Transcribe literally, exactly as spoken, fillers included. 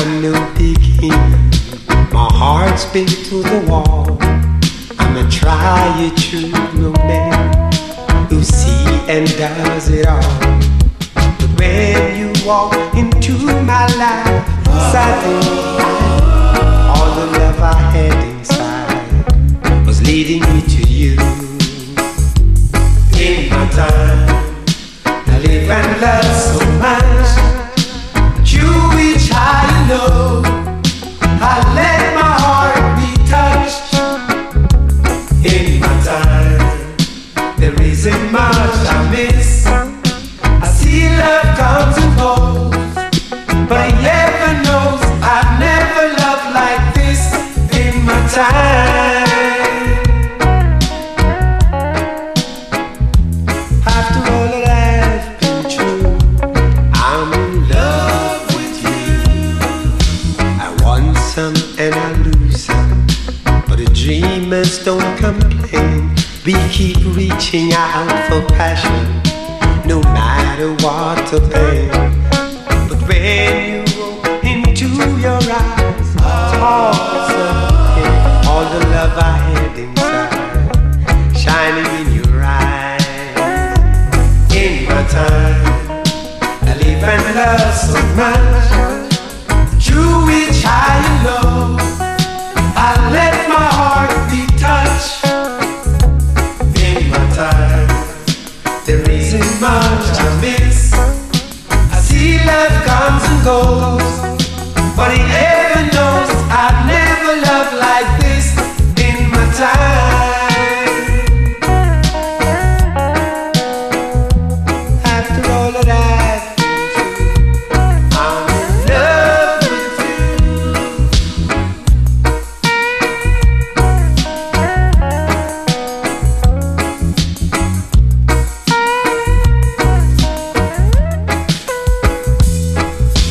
I'm no beginner. My heart's been to the wall. I'm a tried true romance who see and does it all. But when you walk into my life, suddenly all the love I had inside was leading me to you. In my time, I live and love so much. You reach high and low. I let my heart be touched. In my time, there isn't much I miss. I see love comes and goes, but heaven knows I've never loved like this. In my time, after all that I've been through, I'm in love with you. I want some and I lose some, but the dreamers don't complain. We keep reaching out for passion, no matter what the pain. But when you look into your eyes, thoughts of him, all the love I had inside, shining in your eyes. In my time, I live and love so much.